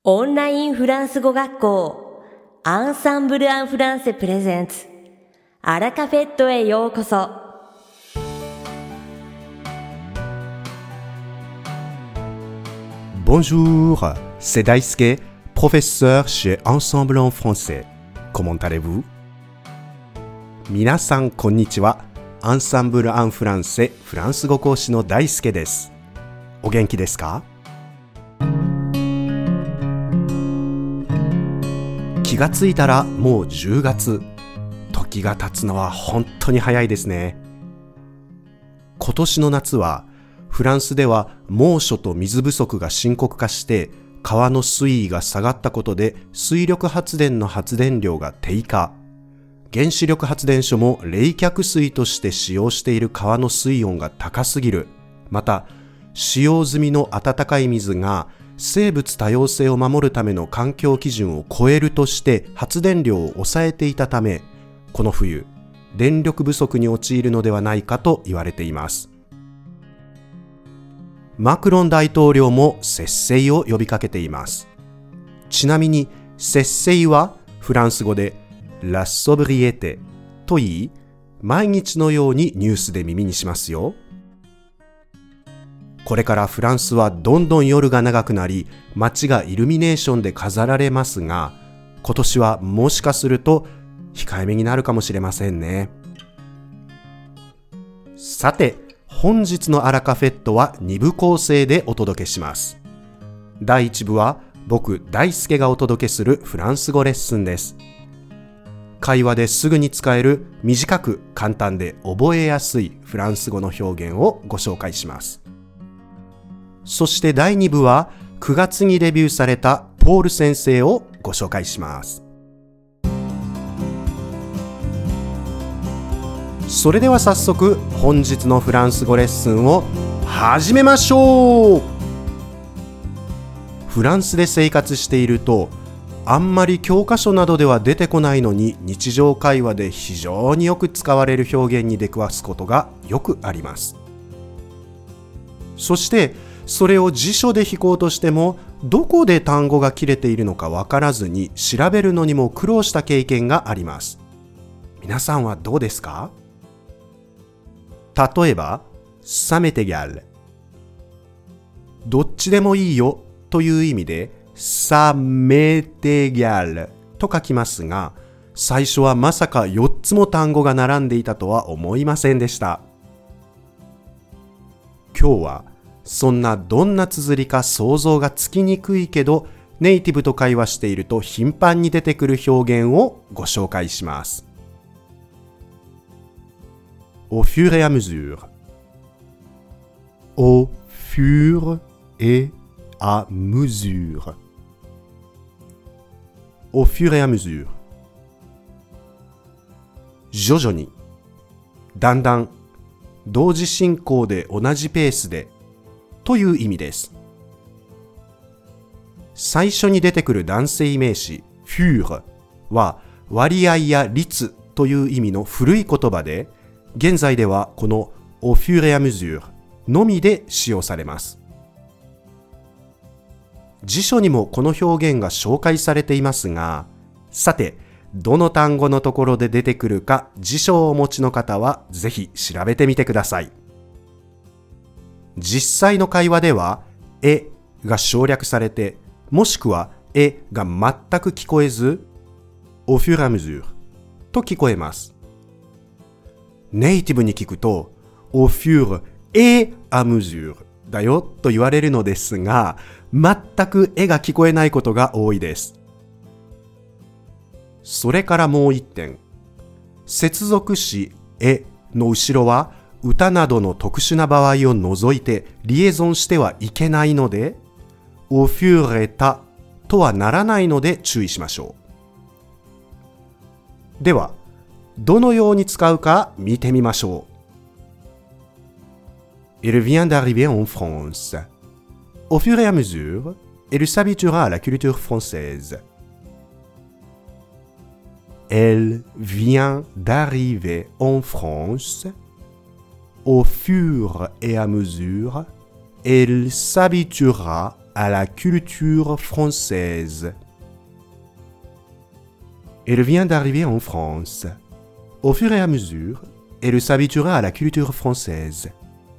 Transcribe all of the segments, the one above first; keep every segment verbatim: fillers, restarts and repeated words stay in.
オンラインフランス語学校アンサンブル・アン・フランセプレゼンツアラカフェットへようこそ。 Bonjour, c'est Daisuke, professeur chez Ensemble en français. Comment allez-vous? 皆さんこんにちは。アンサンブル・アン・フランセフランス語講師の大輔です。お元気ですか？気がついたらもうじゅうがつ。時が経つのは本当に早いですね。今年の夏はフランスでは猛暑と水不足が深刻化して川の水位が下がったことで水力発電の発電量が低下。原子力発電所も冷却水として使用している川の水温が高すぎる。また使用済みの温かい水が生物多様性を守るための環境基準を超えるとして発電量を抑えていたため、この冬電力不足に陥るのではないかと言われています。マクロン大統領も節制を呼びかけています。ちなみに節制はフランス語でラソブリエテと言い、毎日のようにニュースで耳にしますよ。これからフランスはどんどん夜が長くなり、街がイルミネーションで飾られますが、今年はもしかすると控えめになるかもしれませんね。さて、本日のアラカフェットはにぶ構成でお届けします。だいいち部は僕大輔がお届けするフランス語レッスンです。会話ですぐに使える短く簡単で覚えやすいフランス語の表現をご紹介します。そしてだいに部はくがつにデビューされたポール先生をご紹介します。それでは早速本日のフランス語レッスンを始めましょう。フランスで生活しているとあんまり教科書などでは出てこないのに日常会話で非常によく使われる表現に出くわすことがよくあります。そしてそれを辞書で引こうとしてもどこで単語が切れているのかわからずに調べるのにも苦労した経験があります。皆さんはどうですか？例えば、ça m'est égal。どっちでもいいよという意味で、ça m'est égalと書きますが、最初はまさかよっつも単語が並んでいたとは思いませんでした。今日は、そんなどんな綴りか想像がつきにくいけど、ネイティブと会話していると頻繁に出てくる表現をご紹介します。Au fur et à mesure. Au fur et à mesure. Au fur et à mesure. 徐々に、だんだん、同時進行で同じペースでという意味です。最初に出てくる男性名詞 fur は割合や率という意味の古い言葉で、現在ではこの au fur et à mesure のみで使用されます。辞書にもこの表現が紹介されていますが、さて、どの単語のところで出てくるか辞書をお持ちの方はぜひ調べてみてください。実際の会話では、えが省略されて、もしくはえが全く聞こえず、au fur et à mesure と聞こえます。ネイティブに聞くと、au fur et à mesure だよと言われるのですが、全くえが聞こえないことが多いです。それからもう一点。接続詞えの後ろは、歌などの特殊な場合を除いてリエゾンしてはいけないので、au fur et à とはならないので注意しましょう。では、どのように使うか見てみましょう。Il vient d'arriver en France. Au fur et à mesure, elle s'habituera à la culture française. Elle vient d'arriver en France. Au fur et à mesure, elle s'habituera à la culture française. Elle vient d'arriver en France. Au fur et à mesure, elle s'habituera à la culture française.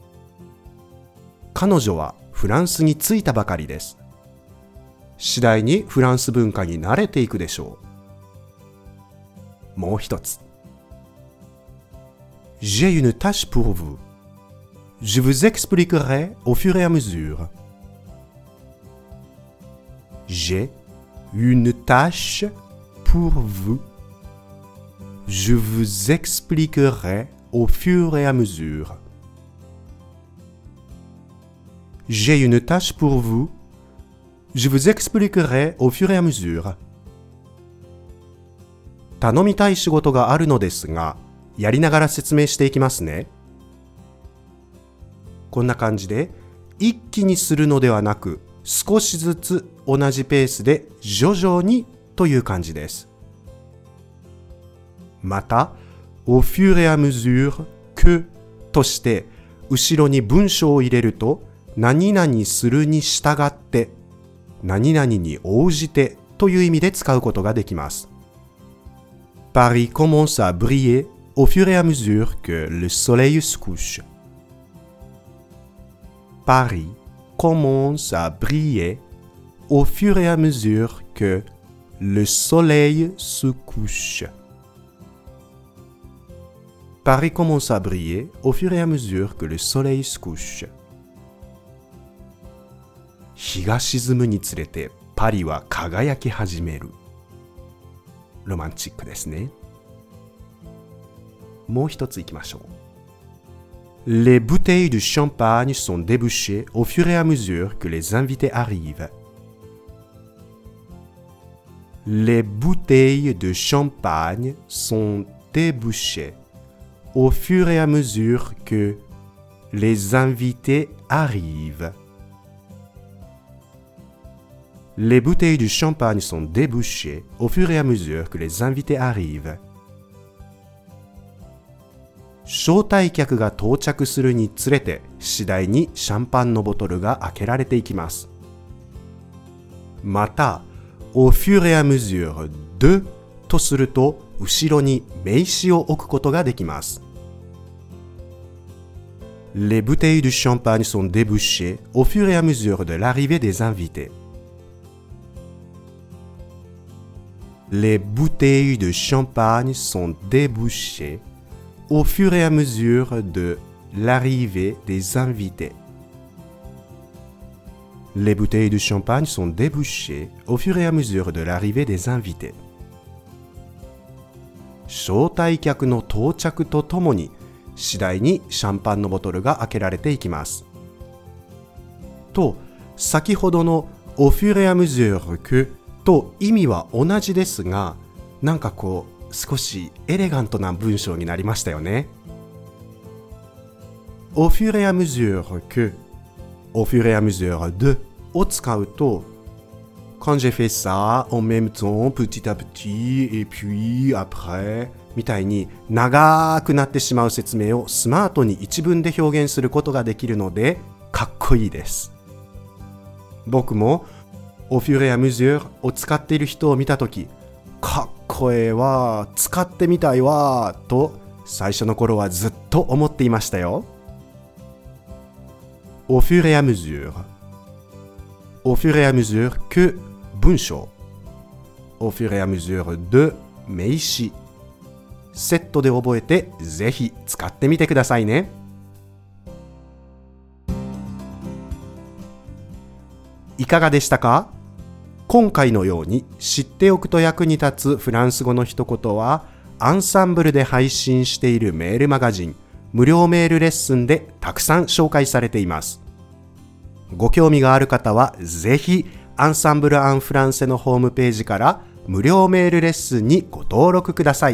彼女はフランスに着いたばかりです。次第にフランス文化に慣れていくでしょう。もう一つ。J'ai une tâche pour vous. Je vous expliquerai au fur et à mesure. J'ai une tâche pour vous. Je vous expliquerai au fur et à mesure. J'ai une tâche pour vous. Je vous expliquerai au fur et à mesure. 頼みたい仕事があるのですが、やりながら説明していきますね。こんな感じで、一気にするのではなく、少しずつ同じペースで徐々にという感じです。また、au fur et à mesure que として、後ろに文章を入れると、何々するに従って、何々に応じてという意味で使うことができます。Paris commence à briller au fur et à mesure que le soleil se couche. Paris commence à briller au fur et à mesure que le soleil se couche. Paris commence à briller au fur et à mesure que le soleil se couche. 日が沈むにつれてパリは輝き始める。ロマンチックですね。もう一ついきましょう。Les bouteilles de champagne sont débouchées au fur et à mesure que les invités arrivent. Les bouteilles de champagne sont débouchées au fur et à mesure que les invités arrivent. Les bouteilles de champagne sont débouchées au fur et à mesure que les invités arrivent. 招待客が到着するにつれて次第にシャンパンのボトルが開けられていきます。また、au fur et à mesure de とすると後ろに名詞を置くことができます。Les bouteilles de champagne sont débouchées au fur et à mesure de l'arrivée des invités. Les bouteilles de champagne sont débouchées au fur et à mesure de l'arrivée des invités. Les bouteilles de champagne sont débouchées au fur et à mesure de l'arrivée des invités. 招待客の到着とともに次第にシャンパンのボトルが開けられていきます。と、先ほどの au fur et à mesure que と意味は同じですが、なんかこう少しエレガントな文章になりましたよね。au fur et à mesure que, au fur et à mesure de を使うと、quand j'ai fait ça en même temps petit à petit et puis après みたいに長くなってしまう説明をスマートに一文で表現することができるのでかっこいいです。僕もau fur et à mesure を使っている人を見たとき、かっこええわ、使ってみたいわと最初の頃はずっと思っていましたよ。au fur et à mesure au fur et à mesure que 文章 au fur et à mesure de 名詞セットで覚えてぜひ使ってみてくださいね。いかがでしたか？今回のように知っておくと役に立つフランス語の一言はアンサンブルで配信しているメールマガジン無料メールレッスンでたくさん紹介されています。ご興味がある方はぜひアンサンブル・アン・フランセのホームページから無料メールレッスンにご登録ください。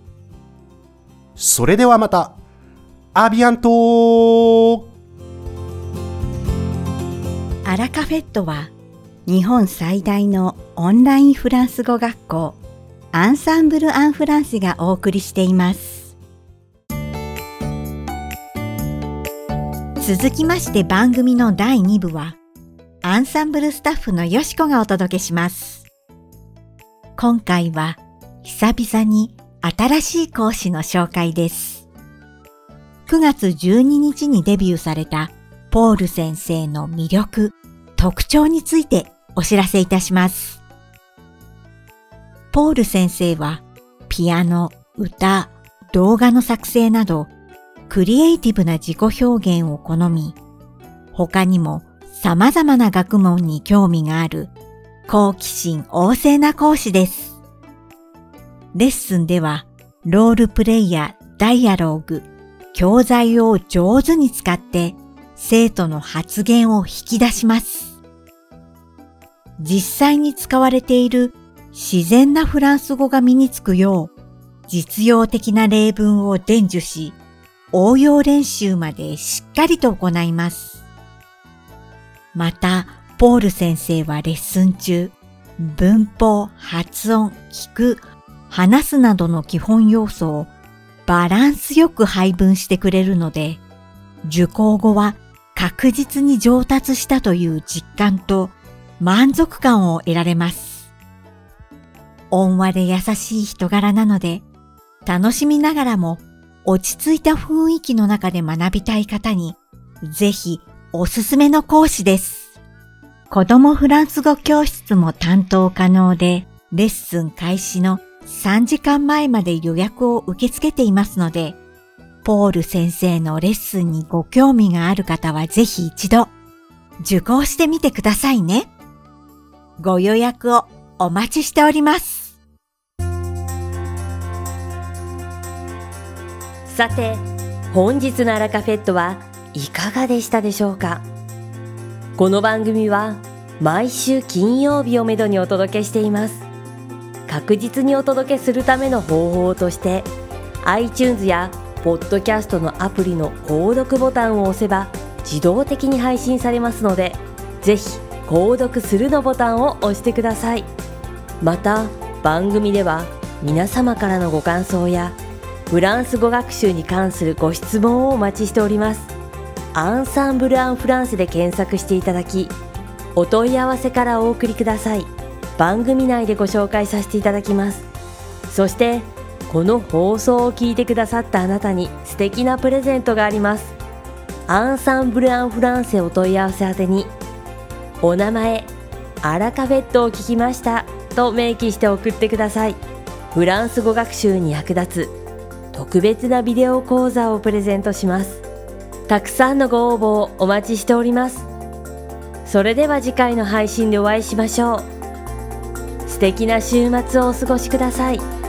それではまた。アビアント。 アラカフェットは日本最大のオンラインフランス語学校アンサンブル・アン・フランセがお送りしています。続きまして番組のだいに部はアンサンブルスタッフのよしこがお届けします。今回は久々に新しい講師の紹介です。くがつじゅうににちにデビューされたポール先生の魅力、特徴についてお知らせいたします。ポール先生はピアノ、歌、動画の作成などクリエイティブな自己表現を好み、他にも様々な学問に興味がある好奇心旺盛な講師です。レッスンではロールプレイやダイアローグ、教材を上手に使って生徒の発言を引き出します。実際に使われている自然なフランス語が身につくよう実用的な例文を伝授し、応用練習までしっかりと行います。また、ポール先生はレッスン中、文法、発音、聞く、話すなどの基本要素をバランスよく配分してくれるので、受講後は確実に上達したという実感と満足感を得られます。温和で優しい人柄なので、楽しみながらも落ち着いた雰囲気の中で学びたい方にぜひおすすめの講師です。子供フランス語教室も担当可能で、レッスン開始のさんじかんまえまで予約を受け付けていますので、ポール先生のレッスンにご興味がある方はぜひ一度受講してみてくださいね。ご予約をお待ちしております。 さて、本日のアラカフェットはいかがでしたでしょうか。この番組は毎週金曜日をめどにお届けしています。確実にお届けするための方法として iTunes やポッドキャストのアプリの購読ボタンを押せば自動的に配信されますので、ぜひ購読するのボタンを押してください。また番組では皆様からのご感想やフランス語学習に関するご質問をお待ちしております。アンサンブル・アン・フランセで検索していただき、お問い合わせからお送りください。番組内でご紹介させていただきます。そしてこの放送を聞いてくださったあなたに素敵なプレゼントがあります。アンサンブル・アン・フランセお問い合わせ宛てに、お名前、アラカフェットを聞きましたと明記して送ってください。フランス語学習に役立つ特別なビデオ講座をプレゼントします。たくさんのご応募をお待ちしております。それでは次回の配信でお会いしましょう。素敵な週末をお過ごしください。